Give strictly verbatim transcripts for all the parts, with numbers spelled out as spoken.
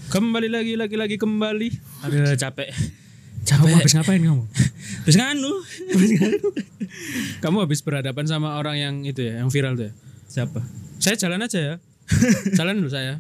Kembali lagi lagi-lagi kembali. Aduh capek. Capek. Kamu habis ngapain kamu? Terus nganu. Kamu habis berhadapan sama orang yang itu ya, yang viral tuh ya? Siapa? Saya jalan aja ya. Jalan dulu saya.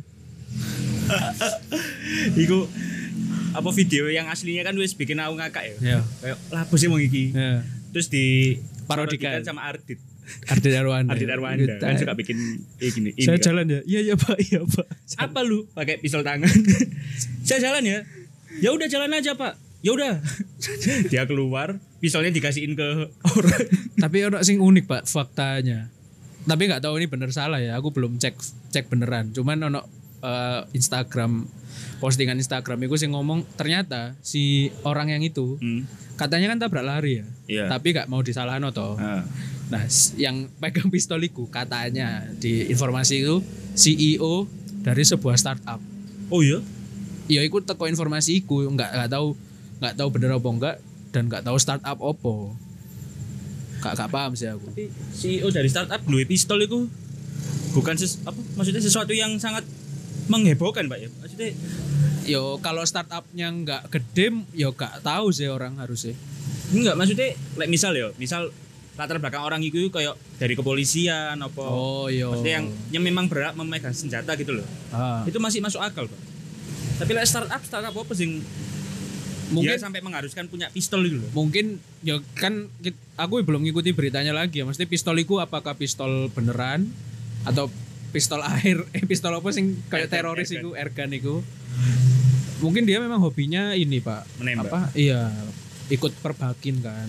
Iku apa video yang aslinya kan wis bikin aku ngakak ya. Iya. Kayak lapo sih mau iki. Ya. Terus di Parodikan. sama Ardit. Ardit Arwanda. Ardit Arwanda kan suka bikin eh, gini. ini Saya kan. jalan ya. Iya iya Pak, iya Pak. Apa lu pakai pistol tangan? Saya jalan ya. Ya udah jalan aja Pak. Ya udah. Dia keluar, pistolnya dikasihin ke orang. Tapi orang sing unik Pak faktanya. Tapi nggak tahu ini bener salah ya. Aku belum cek cek beneran. Cuman ono uh, Instagram postingan Instagram itu sing ngomong ternyata si orang yang itu Hmm. katanya kan tabrak lari ya. Iya. Tapi nggak mau disalahin toh. Ah. Nah, yang pegang pistol itu katanya di informasi itu C E O dari sebuah startup. Oh iya. Ya ikut teko informasi iku nggak nggak tahu nggak tahu bener apa enggak dan nggak tahu startup opo. Gak, gak paham sih aku. Tapi C E O dari startup duwe pistol itu bukan ses, apa maksudnya sesuatu yang sangat menghebohkan Pak ya. Maksudnya Yo kalau startupnya nggak gede, yo gak tahu sih orang harusnya. enggak maksudnya like misal ya, misal latar belakang orang itu kayak dari kepolisian apa. Oh yo. Maksudnya yang yang memang berhak memegang senjata gitu loh. Ah. Itu masih masuk akal, Pak. Tapi like startup startup apa sing Mungkin dia sampai mengharuskan punya pistol gitu loh. mungkin ya kan kit- aku belum ngikuti beritanya lagi ya. Mesti pistol itu apakah pistol beneran atau pistol air eh pistol apa sing kayak Airgun, teroris airgun. itu airgun itu. Mungkin dia memang hobinya ini, Pak. Menembak. Apa? Iya, ikut perbakin kan.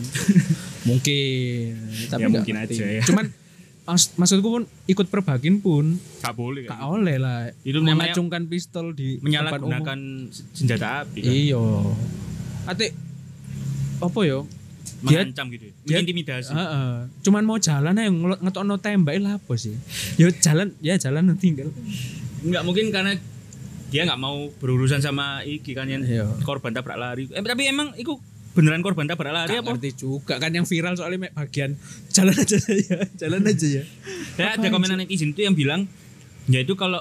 Mungkin tapi Ya, nggak mungkin ngerti. aja ya. Cuman mas, maksudku pun ikut perbakin pun Gak boleh gak oleh lah. Itu namanya mengacungkan pistol di tempat umum. menyalahgunakan senjata api kan. Iya. Ate apa yo? Dia Mengancam gitu. ya. dia- Intimidasi. Heeh. Cuman mau jalan aja ngelo- ngetokno tembak lah apa sih? Yo jalan ya jalan tinggal. Enggak mungkin karena dia nggak mau berurusan sama iki kan yang Iya. korban tabrak lari. Eh, tapi emang itu beneran korban tabrak lari Gak apa? ngerti juga kan yang viral soalnya mek bagian jalan aja ya, jalan aja ya. Ya, ada Apa komenan netizen itu yang bilang ya itu kalau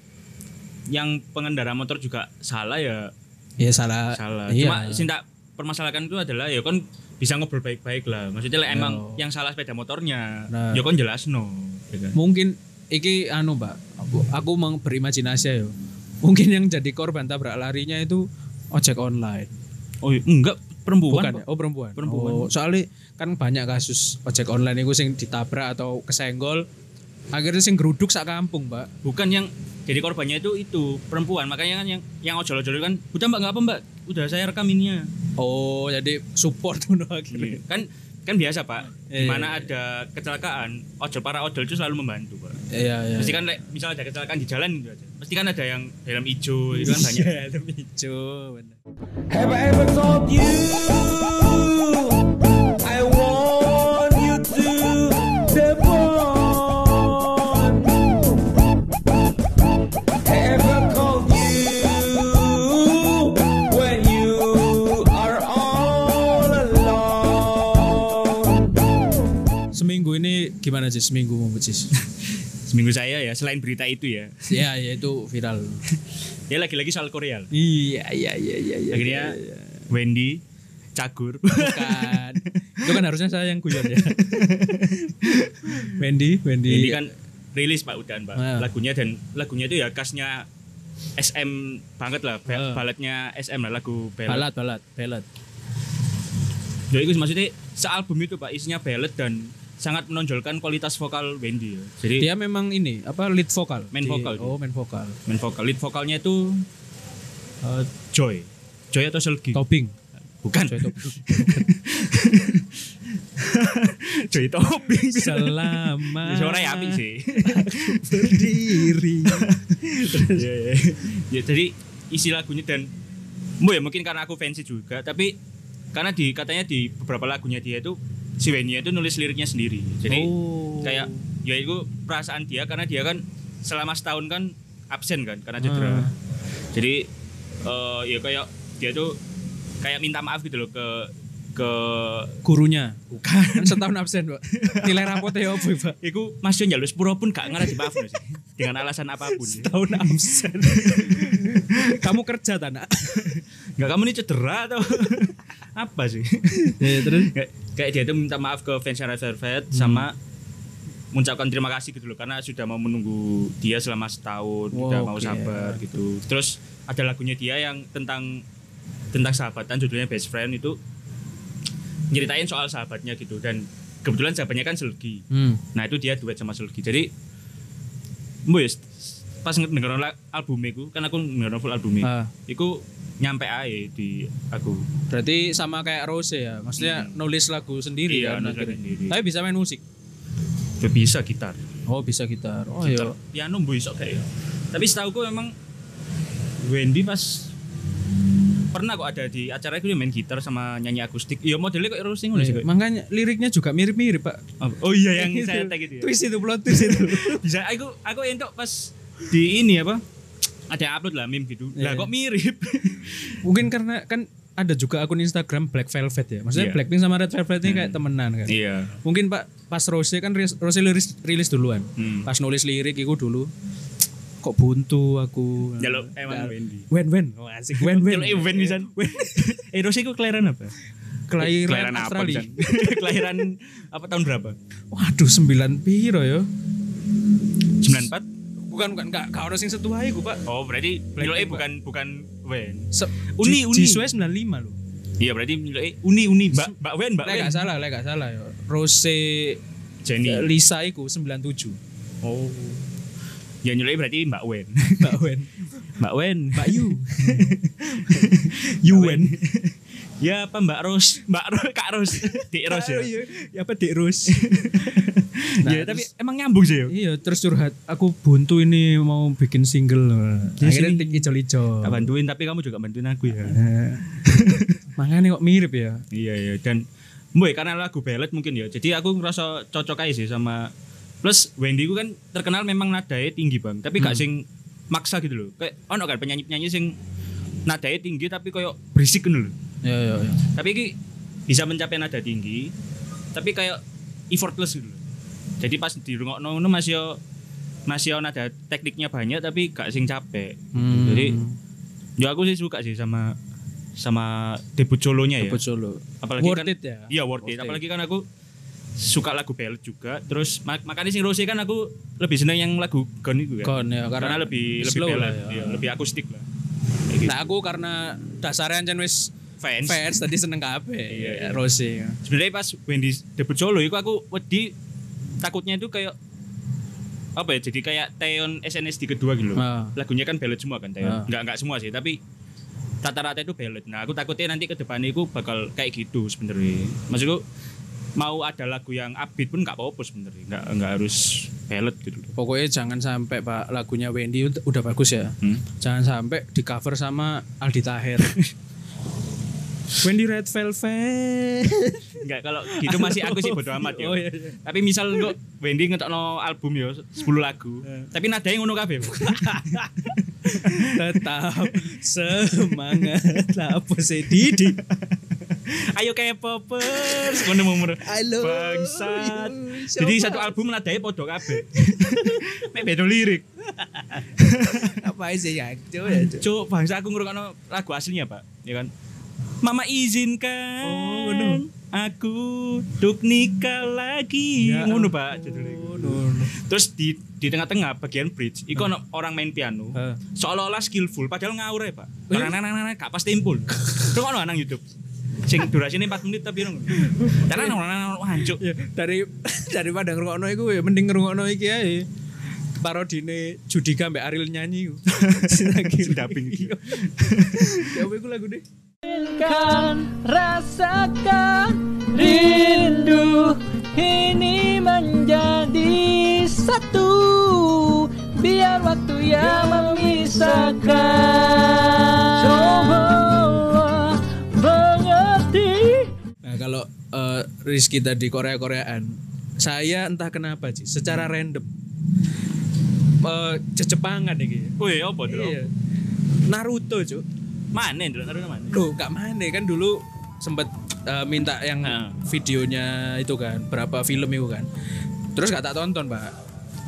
yang pengendara motor juga salah ya Ya salah. salah. Iya. Cuma sing tak permasalahan itu adalah ya kan bisa ngobrol baik-baik lah. Maksudnya lah, emang Yo. yang salah sepeda motornya. Nah. Ya kan jelas no. Ya kan? Mungkin iki anu Mbak, aku, aku mau berimajinasi ya. Mungkin yang jadi korban tabrak larinya itu ojek online. Oh iya, enggak perempuan. Bukan Pak. ya? Oh perempuan. Perempuan. Oh, soalnya kan banyak kasus ojek online itu sing ditabrak atau kesenggol. Akhirnya sing geruduk sak kampung, Mbak. Bukan yang jadi korbannya itu itu perempuan. Makanya kan yang yang ojol-ojol kan udah Mbak enggak apa Mbak. Udah saya rekam ininya. Oh, jadi support tuh akhirnya. Kan kan biasa Pak, di Iya, mana iya. ada kecelakaan, ojol para ojol itu selalu membantu Pak. Iya, iya. Pasti kan like, misal ada kecelakaan di jalan gitu aja. Pasti kan ada yang helm hijau itu kan banyak. Iya, helm hijau, bener. Have I ever told you I want you to the bone? Have I called you when you are all alone? Seminggu ini gimana sih seminggu mau Cis? Seminggu saya ya selain berita itu ya. Ya, ya itu viral. Ya lagi-lagi soal Korea. Iya, iya, iya, iya, iya. Akhirnya iya, iya. Wendy cagur. Bukan. Itu kan harusnya saya yang guyon ya. Wendy, Wendy. Wendy kan rilis Pak Udan Pak Ah. lagunya dan lagunya itu ya khasnya S M banget lah. Ah. Baladnya S M lah lagu ballad. balad, balad, balad. Ya itu maksudnya sealbum itu Pak isinya ballad dan sangat menonjolkan kualitas vokal Wendy ya. Jadi Dia memang ini apa lead vokal? Main Di- vokal dia. Oh, main vokal. main vokal lead vokalnya itu uh, Joy. Joy atau Selgi? Tobing. Bukan. Joy Tobing. Joy Tobing. Selamat. Suara ya apik sih. Berdiri. Iya, iya. Ya, jadi isi lagunya dan mu ya mungkin karena aku fans juga, tapi karena di katanya di beberapa lagunya dia itu si Wendy itu nulis liriknya sendiri. Jadi Oh. kayak ya itu perasaan dia karena dia kan selama setahun kan absen kan karena cedera. Ah. Jadi eh, ya kayak dia tuh kayak minta maaf gitu loh ke ke gurunya. Bukan. Kan setahun absen, Pak. Nilai rapotnya apa, Pak? iku Mas Yon njaluk sepuro pun gak ngarep dimaafno sih dengan alasan apapun. Setahun absen. Kamu kerja tak nak? Enggak, kamu ini cedera atau apa sih? Ya, terus kayak, kayak dia tuh minta maaf ke fans Red Velvet hmm. sama mengucapkan terima kasih gitu loh karena sudah mau menunggu dia selama setahun, wow, udah mau okay. sabar gitu. Terus ada lagunya dia yang tentang tentang sahabatan, judulnya Best Friend, itu nyeritain soal sahabatnya gitu, dan kebetulan sahabatnya kan Selgi. Hmm. Nah itu dia duet sama Selgi. Jadi mbok ya pas ngedenger albumnya ku, kan aku ngedenger full albumnya. Ah. Iku nyampe ae di aku. Berarti sama kayak Rose ya, maksudnya hmm. nulis lagu sendiri iya, kan. Nulis lagu sendiri. Tapi bisa main musik. Ya, bisa gitar. Oh bisa gitar. Oh gitar. iya. Piano mbok iso kayak. Tapi setahu ku memang Wendy pas pernah kok ada di acara itu dia main gitar sama nyanyi akustik. Iya modelnya kok Rose ngono sih. Makanya liriknya juga mirip-mirip, Pak. Oh, oh iya yang saya tag itu ya. Twist itu plot twist itu. Bisa aku aku entuk pas di ini apa? Ada upload lah meme gitu. Lah yeah. Kok mirip. Mungkin karena kan ada juga akun Instagram Black Velvet ya. Maksudnya yeah. Blackpink sama Red Velvet ini hmm. kayak temenan kan. Iya. Yeah. Mungkin Pak pas Rose kan Rose rilis, rilis duluan. Hmm. Pas nulis lirik itu dulu kok buntu aku. Jaluk emang Wendy. Wen Wen. Oh asik Wen Wen. Jaluk Wen bisa. Eh Rose itu kelahiran apa? Kelahiran, kelahiran Australia. Apa, kelahiran apa tahun berapa? Waduh sembilan piro ya? sembilan empat Bukan bukan enggak enggak ono sing setua iku, Pak. Oh, berarti Miloe bukan bukan Wen. Se- uni Uni Jiswe sembilan puluh lima loh. Iya, berarti Miloe Uni Uni Mbak Mbak Wen, Mbak Wen. Enggak salah, enggak salah ya. Rose Jenny Lisa iku sembilan puluh tujuh. Oh. Ya Miloe berarti Mbak Wen. Mbak Wen. Mbak Wen. Mbak Yu. Yu Wen. Ya apa Mbak Ros, Mbak Ros, Kak Ros, Dik Ros ya. Ya apa Dik Ros. Nah, ya tapi emang nyambung sih yo. Iya, terus curhat, aku buntu ini mau bikin single. Akhirnya tik ijo-ijo. Tak bantuin tapi kamu juga bantuin aku ya. Makanya kok mirip ya. Iya iya dan mbok karena lagu ballad mungkin ya. Jadi aku ngerasa cocok aja sih sama plus Wendy ku kan terkenal memang nadanya tinggi Bang, tapi gak hmm. sing maksa gitu loh. Kayak ono kan penyanyi-penyanyi sing nadanya tinggi tapi koyo berisik gitu loh. Ya, ya, ya. Tapi ini bisa mencapai nada tinggi, tapi kayak effortless gitu. Jadi pas di rungokno ngono masih yo masih yo nada tekniknya banyak tapi gak sing capek. Hmm. Jadi ya aku sih suka sih sama sama debut solonya ya. Debut solo. Apalagi worth kan, it ya. Iya worth, worth it. it. Apalagi kan aku suka lagu ballad juga. Terus mak- makanya sing Rose kan aku lebih seneng yang lagu Gone itu kan. Gone ya karena, karena lebih lebih ballad, ya. Ya, lebih akustik lah. Gitu. Nah aku karena dasarnya ancen wis fans fans tadi seneng kabeh iya, iya. Rose. Sebenarnya pas Wendy debut solo itu aku wedi takutnya itu kayak apa ya jadi kayak Taeyeon S N S D kedua gitu loh. Ah. Lagunya kan ballad semua kan Taeyeon. Ah. Enggak enggak semua sih tapi rata-rata itu ballad. Nah, aku takutnya nanti ke depannya itu bakal kayak gitu sebenarnya. Maksudku mau ada lagu yang upbeat pun enggak apa-apa sebenarnya. Enggak enggak harus ballad gitu loh. Pokoknya jangan sampai Pak lagunya Wendy udah bagus ya. Hmm? Jangan sampai di cover sama Aldi Taher. Wendy Red Velvet. Enggak, kalau gitu masih aku sih bodo amat ya. Oh, iya, iya. Tapi misal kok Wendy ngetokno album ya sepuluh lagu. Tapi nadanya ngono kabeh. Tetap semangat lah apa sih Didi. Ayo K-popers ngono umur. Bangsat. Jadi satu album nadanya podo kabeh. Mek beda lirik. Apa sih ya? Cuk, bangsa aku ngrungokno lagu aslinya, Pak. Ya kan? Mama izinkan oh, no. aku untuk nikah lagi ya, ngono Pak judulnya. No, no. Terus di di tengah-tengah bagian bridge iku ono orang main piano uh. seolah-olah skillful padahal ngawur ya Pak. Nang-nang-nang gak pas tempul. Terus ono nang YouTube. Sing durasinya empat menit tapi ngono. Karena nang hancur. Dari daripada ngrungokno iku ya mending ngrungokno iki ae. Parodine Judika mbak Ariel nyanyi. Lagi dubbing. Ya iku lagu deh. Kan rasakan rindu ini menjadi satu biar waktu yang memisahkan coba mengerti. Nah kalau uh, Rizky tadi Korea-Koreaan saya entah kenapa sih secara random uh, Jepangan iki. Oh iya apa tuh? Iya. Naruto cuy. Mana dulu Naruto mana? Loh, gak mana kan dulu sempet uh, minta yang uh. videonya itu kan, berapa film itu kan. Terus gak tak tonton, Pak.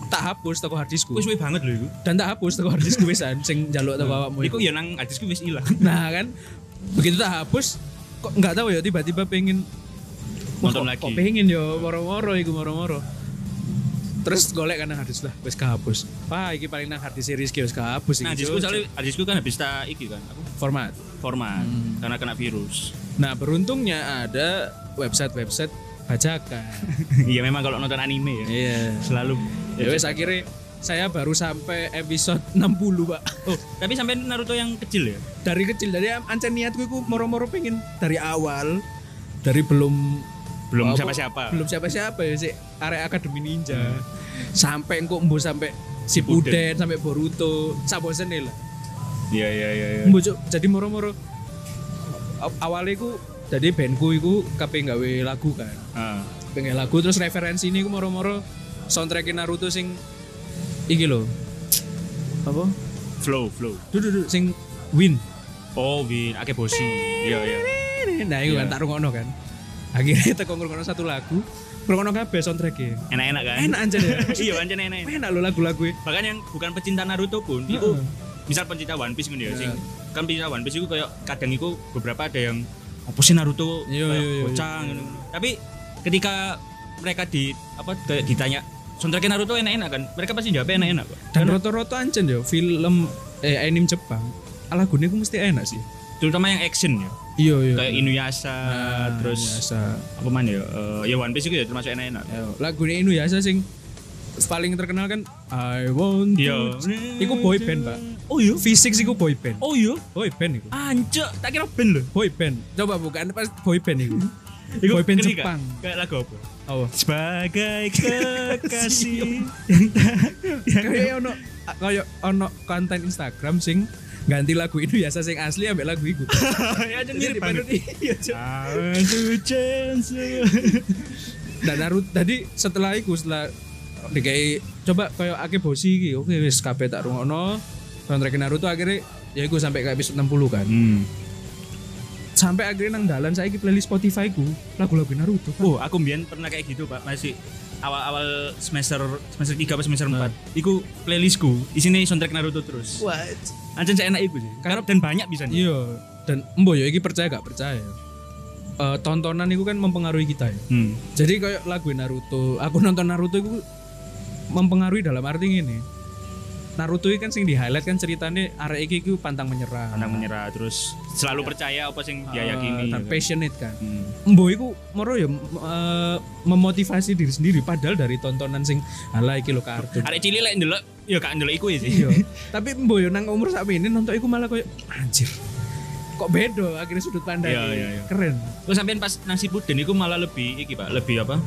tak hapus teko hard diskku. Wis suwe banget lho iku. Dan tak hapus teko hard diskku wisan sing njaluk teko awakmu. Iku ya nang hadisku wis ilang. Nah kan begitu tak hapus kok nggak tahu ya tiba-tiba pengen wah, Nonton kok, lagi. kok pengen yo moro-moro iku moro-moro. Terus golek kan nang harddisk lah wis kehapus. Wah iki paling nang harddisk series ki wis kehapus iki. Nah, hadisku soalnya hadisku kan habis tak iki kan. Apa? format. Format Hmm. karena kena virus. Nah, beruntungnya ada website-website bajakan. Iya memang kalau nonton anime ya Iya. selalu Ya wis akhirnya saya baru sampai episode enam puluh, Pak. Oh, tapi sampai Naruto yang kecil ya? Dari kecil dari ancen niatku iku moro-moro pengen dari awal dari belum Belum apa, siapa-siapa. belum siapa-siapa ya sih area Akademi Ninja sampai engko mbo sampai Shippuden sampai Boruto sabosene lah Iya iya iya iya. mbo Cuk. Jadi moro-moro aw- awalnya iku jadi bandku iku kape gawe lagu kan Ah. pengen lagu terus referensi ini iku moro-moro soundtrack Naruto sing iki lho apa Flow, flow. dudu sing Win. Oh, Win, Akeboshi. Iya iya. Nah iku kan Iya. tak rungokno kan akhirnya teko ngrungokno satu lagu ngrungokno kabeh soundtrack-e Enak-enak kan? enak aja ya Iya, pancen enak. enak lho lagu-lagu Bahkan yang bukan pecinta Naruto pun, Heeh. itu misal pecinta One Piece gitu ya, sing Heeh. kan pecinta One Piece itu kayak kadang itu beberapa ada yang apa sih Naruto Iya, kayak iya, iya, bocah gitu. Tapi ketika mereka di apa kayak ditanya soundtrack Naruto enak-enak kan, mereka pasti jawab enak-enak kok. dan Karena roto-roto ancen yo film eh anime Jepang lagune ku mesti enak sih terutama yang action ya, iya iya kayak Inuyasha, Nah, terus Inuyasha. apa man ya, eh, ya One Piece itu ya termasuk enak-enak. Yo, lagune Inuyasha sing paling terkenal kan I want Iya. to iku boy band Pak Oh iya. Physics iku boy band Oh iya. boy band iku Anjir, tak kira band loh. boy band coba bukan pas boy band iku Iku boy band ngerti Jepang gak? Kayak lagu apa? oh Sebagai kekasih. kayak ono kayak ono konten Instagram sing ganti lagu Inuyasha sing asli ambek lagu iku Ya aja mirip banget. iya Cuk. Aku chance. Dan Naruto tadi setelah itu setelah dikai coba kayak Akeboshi iki oke wis kabeh tak rungokno soundtrack Naruto akhirnya ya iku sampai ke episode enam puluh kan Hmm. sampai akhirnya nang dalan saiki playlist Spotify ku lagu-lagu Naruto Pak. Oh, aku mbien pernah kayak gitu, Pak. Masih awal-awal semester semester tiga atau semester empat. Iku playlistku isine soundtrack Naruto terus. What? Anjir saya enak iku sih. Karena dan banyak bisa nih. Iya dan embo ya iki percaya gak percaya Eh, tontonan itu kan mempengaruhi kita ya Hmm. jadi kayak lagu Naruto aku nonton Naruto itu mempengaruhi dalam arti ini Naruto ini kan sing di highlight kan ceritanya arek iki ku pantang menyerah Pantang menyerah terus selalu percaya apa sing dia Eh, yakini. dan ya kan? passionate kan Hmm. Mbo iku moro ya eh, memotivasi diri sendiri padahal dari tontonan sing ala iki lho kartun. Arek cilik lek ndelok ya gak ndelok iku ya sih. Iya. Tapi Mbo yo nang umur sak ini nonton iku malah koyo anjir. Kok beda akhirnya sudut pandang. Iya, iya, iya. Keren. Terus sampean pas nasi puden iku malah lebih iki, Pak, lebih apa?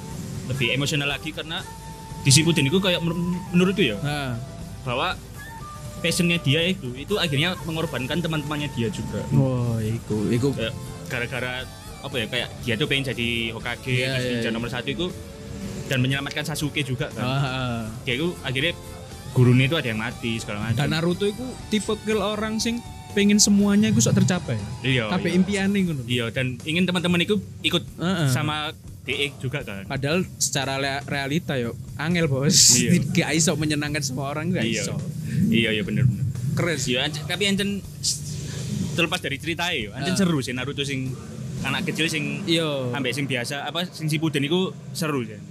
Lebih emosional lagi karena di Shippuden iku kayak menur- menurutku ya Nah, bahwa passionnya dia itu itu akhirnya mengorbankan teman-temannya dia juga. oh iku iku Kayak gara-gara apa ya kayak dia tuh pengen jadi Hokage Iya, terus iya, ninja iya. nomor satu itu dan menyelamatkan Sasuke juga kan. ah, Kayak itu akhirnya gurunya itu ada yang mati segala macam. dan Naruto iku tipe kill orang sing pengen semuanya iku sok tercapai. Iya. Kabeh iya. impiane ngono. Iya dan ingin teman-teman itu ikut Heeh. sama D E juga kan. Padahal secara le- realita yo angel bos. Iya. Gak iso menyenangkan semua orang gak Iya. iso. Iya iya bener bener. Keren sih. Iya anc- tapi ancen terlepas dari cerita ya, ancen Ah. seru sih Naruto sing anak kecil sing Iya. ambek sing biasa apa sing Shippuden iku seru sih.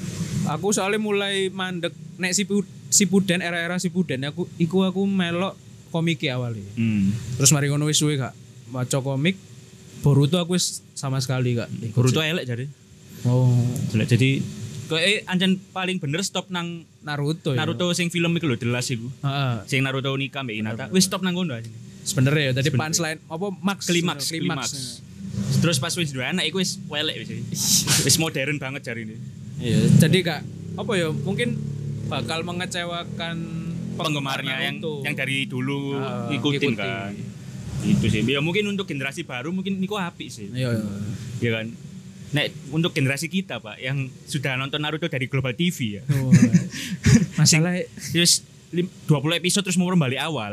Aku soalnya mulai mandek nek Shippu- Shippuden era-era Shippuden aku iku aku melok komik awalnya. Hmm. Terus mari ngono wis suwe gak maca komik. Boruto aku wis sama sekali gak. ikut Boruto sih. elek jadi. Oh, Jelek jadi kok eh ancen paling bener stop nang Naruto ya. Naruto sing film iku lho The Last iku. Heeh. Sing Naruto nikah mbek Hinata. Wis stop nang kono aja. Sebenarnya ya tadi Sebenernya. punchline apa max Klimaks, klimaks. klimaks. Terus pas wis dua anak iku wis welek wis. Wis modern banget jari ini. Iya, jadi kak apa ya mungkin bakal mengecewakan Penggemarnya yang Naruto. yang dari dulu Ah, ikutin ikuti. kan. Itu sih. Ya mungkin untuk generasi baru mungkin niku apik sih. Iya, iya. Ya kan. Nek untuk generasi kita Pak yang sudah nonton Naruto dari Global T V ya. Oh, masalah Terus lim- dua puluh episode terus mau balik awal.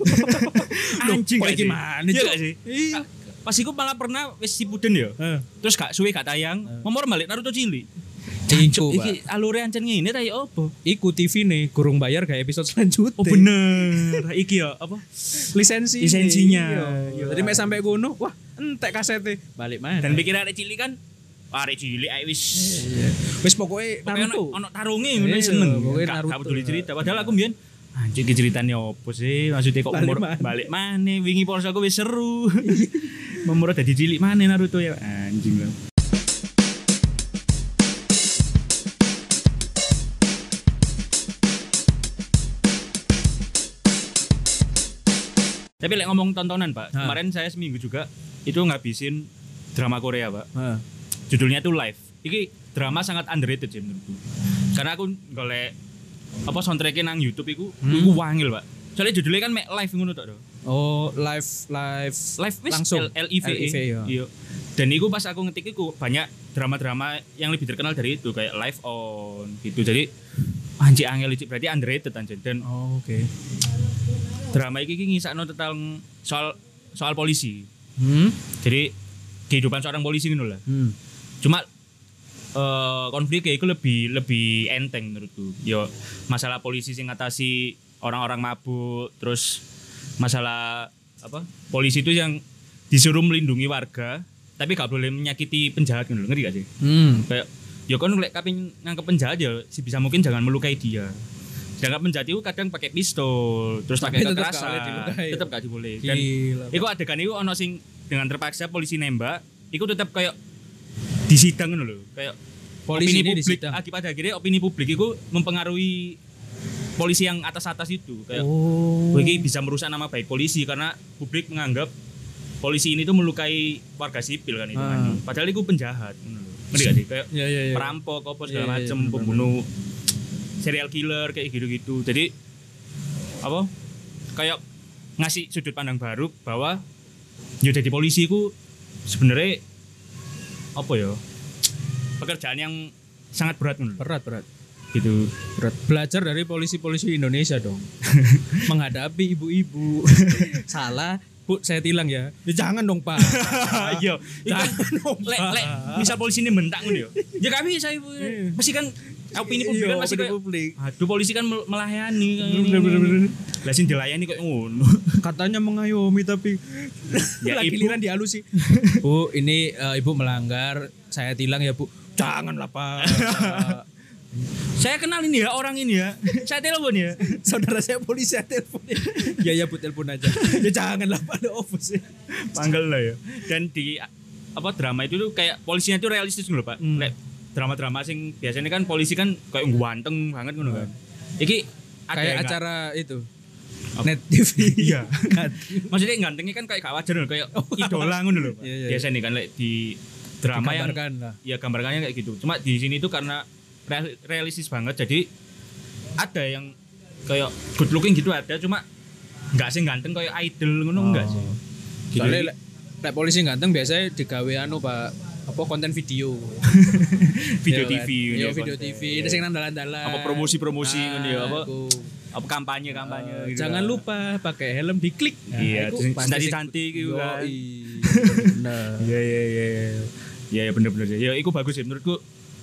Anjing kok gak iki sih? mana, Iya Cuk? gak sih? Iya. Ah, Pas iku malah pernah wis Shippuden ya. Eh. Terus gak suwe gak tayang, mau balik Naruto cilik. Iku, Iki alure ancen ngene ta ya apa? Iku T V nih, kurung bayar kayak episode selanjutnya. Oh bener. Iki ya apa? Lisensi. Lisensinya. Iya. Jadi mek sampai kono, wah, entek kasete. Balik mana? Dan pikir arek cilik kan arek cilik ae wis Wis pokoknya Pokoknya Naruto. ono tarunge ngono Iya, seneng. pokoknya Gak- Naruto. Gak peduli cerita. Padahal aku mbiyen anjir iki ceritane opo sih? Maksudnya kok Balik umur maneh. balik maneh wingi poso aku wis seru. Memur dadi cilik maneh Naruto ya anjing lah. Tapi lek ngomong tontonan, Pak. Ha. Kemarin saya seminggu juga itu ngabisin drama Korea, Pak. Heeh. Judulnya tuh Live. Iki drama sangat underrated sih menurutku. Karena aku golek apa soundtrack-nya nang YouTube iku, Hmm. iku wangil, Pak. Soalnya judulnya kan mek live ngono tok. Oh, live live Live wis langsung L I V E. L I V E, ya. Iya. Dan iku pas aku ngetik iku banyak drama-drama yang lebih terkenal dari itu kayak Live On gitu. Jadi anjir angel iki berarti underrated anjir. Dan Oh, oke. drama iki iki ngisakno tentang soal soal polisi. Hmm. Jadi kehidupan seorang polisi gitu lah. Hmm. Cuma eh konfliknya itu lebih lebih enteng menurutku. Yo masalah polisi sing ngatasi orang-orang mabuk, terus masalah apa? Polisi itu yang disuruh melindungi warga, tapi gak boleh menyakiti penjahat gitu loh. Ngerti gak sih? Hmm. Kayak yo kan lek kaping nangkep penjahat ya sebisa mungkin jangan melukai dia. Sedangkan penjahat itu kadang pakai pistol, terus Tapi pakai tetep gak kekerasan, boleh dilukai. tetap gak diboleh. Dan Gila. iku adegan iku ono sing dengan terpaksa polisi nembak, iku tetap kayak disidang ngono lho. Kayak Polisi opini ini publik disidang. akibat akhirnya opini publik itu mempengaruhi polisi yang atas-atas itu kayak Oh. oh. Ini bisa merusak nama baik polisi karena publik menganggap polisi ini tuh melukai warga sipil kan itu Ah. kan. Padahal itu penjahat ngono lho. Ngerti gak sih? Kayak Ya ya ya. perampok apa segala Iya, iya, macem, bener, pembunuh serial killer kayak gitu-gitu. Jadi apa? Kayak ngasih sudut pandang baru bahwa ya jadi polisi ku sebenarnya apa ya? Pekerjaan yang sangat berat menurut Berat berat. gitu. Berat. Belajar dari polisi-polisi Indonesia dong. Menghadapi ibu-ibu. Salah, Bu, saya tilang ya. Ya jangan dong, Pak. Iya, Jangan dong, lek Pak. lek misal polisi ini mentak ngono ya. Ya kami saya pasti kan opini publik kan Iya, pasti opini kayak publik. aduh polisi kan mel- melayani kayak Bener, ini. bener, bener. Lah sing dilayani kok ngono. Katanya mengayomi tapi Ya, lagi Ibu. giliran dihalusi. Bu, ini eh, Ibu melanggar. Saya tilang ya, Bu. Janganlah, Pak. Saya kenal ini ya orang ini ya. Saya telepon ya. Saudara saya polisi, saya telepon. Ya ya Bu, telepon aja. Ya janganlah pada office. Panggil lah ya. Dan di apa drama itu tuh kayak polisinya tuh realistis gitu loh, Pak. Hmm. Lek drama-drama sing biasanya kan polisi kan kayak ganteng banget ngono kan. Iki ada Kayak yang nggak- acara itu. Apa? Net T V. Iya. Maksudnya gantengnya kan kayak gak wajar loh, kayak idola ngono loh, Pak. Iya, iya, Biasanya kan lek di drama yang Digambarkan lah. ya gambarkannya kayak gitu. Cuma di sini tuh karena real- realistis banget jadi ada yang kayak good looking gitu ada cuma nggak sih ganteng kayak idol ngono enggak sih. Gitu. Soalnya lek lek polisi ganteng biasanya digawe anu Pak, apa konten video. video Iya T V kan? Iya gitu, video konten. T V, ini sing nang dalan-dalan. Apa promosi-promosi Ah, ngono ya, apa iku. apa kampanye-kampanye Eh, gitu. Jangan kan. lupa pakai helm diklik. Iya, iku terus pasti tadi sing- cantik gitu kan. Yoi. Bener. Iya iya iya iya. Iya ya, bener-bener sih. Ya itu bagus sih menurutku.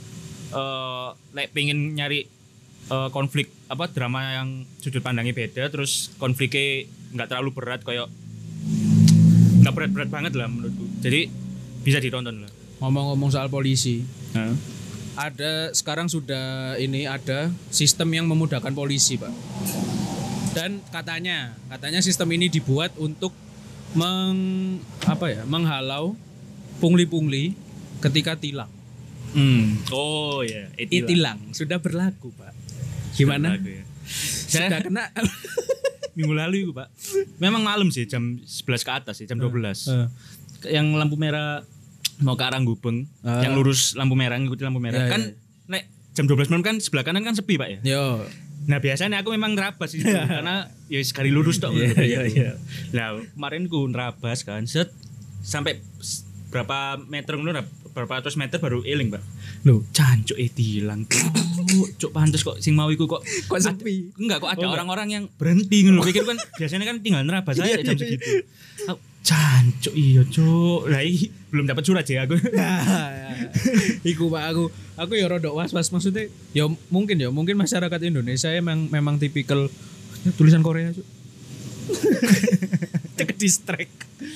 Eh lek pengen nyari eh, konflik apa drama yang sudut pandangnya beda terus konfliknya nggak terlalu berat kayak nggak berat-berat banget lah menurutku. Jadi bisa ditonton lah. Ngomong-ngomong soal polisi, Heeh. ada sekarang sudah ini ada sistem yang memudahkan polisi, Pak. Dan katanya, katanya sistem ini dibuat untuk meng apa ya, menghalau pungli-pungli ketika tilang. Hmm. Oh ya, etilang. Itilang sudah berlaku, Pak. Gimana? Sudah, ya. Sudah Saya kena minggu lalu itu, Pak. Memang malam sih jam sebelas ke atas sih, jam dua belas. Eh. Yang lampu merah mau ke arah Gubeng, Ah. yang lurus lampu merah ngikuti lampu merah. Ya, kan ya. nek jam dua belas malam kan sebelah kanan kan sepi, Pak ya. Yo. Nah biasanya aku memang nerabas itu karena ya sekali lurus tok. Iya, gitu. iya, iya. Nah kemarin ku nerabas kan set sampai s- berapa meter ngono nah, berapa ratus meter baru eling, Pak. Loh, Cancuk eh tilang. Cuk pantes kok sing mau iku kok kok sepi? Enggak kok ada Oh, enggak. orang-orang yang berhenti ngono. Pikir kan biasanya kan tinggal nerabas aja Iya, jam iya, segitu. Aku- Jancuk iya, Cuk. Lah iki belum dapat surat ya aku. Iku Pak aku aku ya rodok was-was maksudnya ya mungkin ya mungkin masyarakat Indonesia emang memang tipikal tulisan Korea Cuk. Cek distract.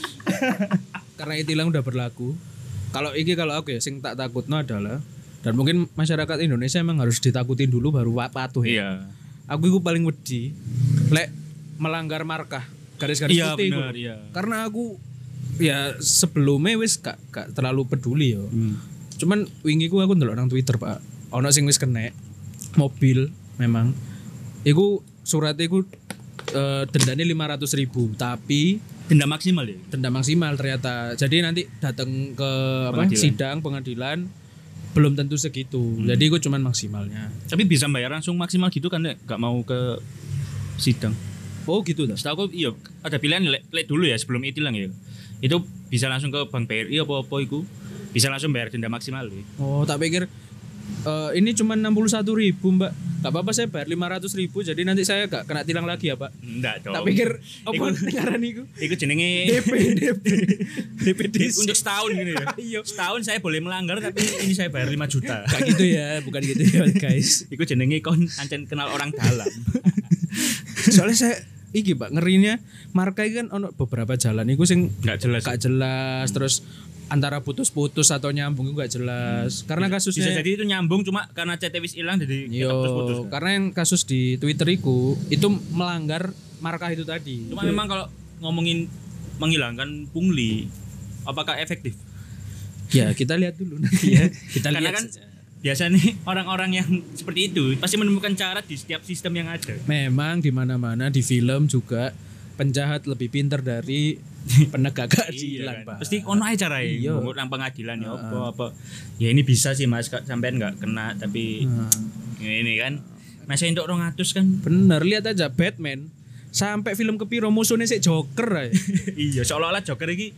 Karena itilang udah berlaku. Kalau iki kalau aku ya sing tak takutno adalah dan mungkin masyarakat Indonesia emang harus ditakutin dulu baru patuh ya. Iya. Aku iku paling wedi lek melanggar markah garis-garis Iya putih iku. bener, iya. Karena aku ya sebelumnya wis gak, gak terlalu peduli yo. Hmm. Cuman wingi ku aku ndelok nang Twitter, Pak. Ono sing wis kena mobil memang. Iku suratnya iku uh, dendanya lima ratus ribu tapi Denda maksimal ya. denda maksimal ternyata. Jadi nanti datang ke apa Pengadilan. sidang pengadilan belum tentu segitu. Hmm. Jadi iku cuman maksimalnya. Tapi bisa bayar langsung maksimal gitu kan Nek? Gak mau ke sidang. Oh gitu dah. Setahu aku iya ada pilihan lek lek dulu ya sebelum itilang ya. Itu bisa langsung ke Bank B R I apa-apa iku. Bisa langsung bayar denda maksimal ya. Oh, tak pikir eh, ini cuma enam puluh satu ribu mbak. Gak apa-apa saya bayar lima ratus ribu. Jadi nanti saya gak kena tilang lagi ya pak. Enggak dong. Tak pikir apa Iku- ngaran iku? Iku jenenge D P D P D P untuk setahun gini ya. Iya. Setahun saya boleh melanggar tapi ini saya bayar lima juta. Gak gitu ya, bukan gitu ya guys. Iku jenenge kon ancen kenal orang dalam. Soalnya saya iki pak ngerinya marka iki kan ono beberapa jalan iku sing Enggak jelas. gak jelas terus antara putus-putus atau nyambung itu gak jelas. Karena Bisa kasusnya jadi itu nyambung cuma karena C T wis ilang jadi Yo, tetap putus-putus. karena yang kasus di Twitter iku itu melanggar markah itu tadi. Cuma memang kalau ngomongin menghilangkan pungli apakah efektif? Ya kita lihat dulu nanti ya. Kita Karena lihat kan saja. biasanya orang-orang yang seperti itu pasti menemukan cara di setiap sistem yang ada. Memang di mana-mana di film juga penjahat lebih pintar dari penegak keadilan, kan? Pak. Pasti ono ae carae. Iya. Ngomong nang pengadilan ya apa apa. Ya ini bisa sih Mas Kak, sampean enggak kena tapi Nah, ini kan masih untuk dua ratus kan. bener lihat aja Batman sampai film kepiro musuhnya si Joker aja. Iya, seolah-olah Joker iki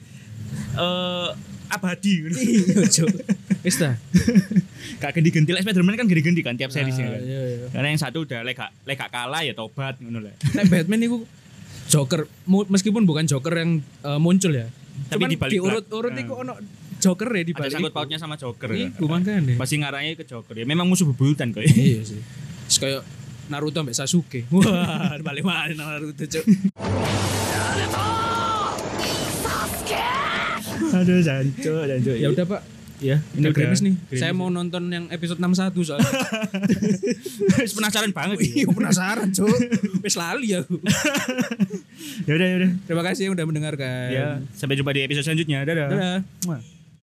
eh abadi ngono. Iya, Cuk. Wis ta. Gak ganti-ganti lek Spiderman kan ganti-ganti kan tiap series Ah, kan. iya, iya. Karena yang satu udah lek gak lek gak kalah ya tobat ngono lah. Nek Batman itu Joker mu- meskipun bukan Joker yang eh, muncul ya. Tapi Cuman di balik diurut-urut belak- itu ono Joker ya di Ada balik. sangkut iku. pautnya sama Joker. Iku makanya. Pasti ngarahnya ke Joker ya. Memang musuh bebuyutan kok. Iya sih. Terus kayak Naruto sampai Sasuke. Wah, balik mana Naruto, Cuk. Aduh, jancu, jancu. Ya udah, Pak. ya, Udah gerimis nih. Gerimis. Saya mau nonton yang episode enam puluh satu soalnya. Wis penasaran banget. ya. Iya, penasaran, Cuk. Wis lali aku. Ya udah, ya udah. Terima kasih yang udah mendengarkan. Ya, sampai jumpa di episode selanjutnya. Dadah. Dadah. Muah.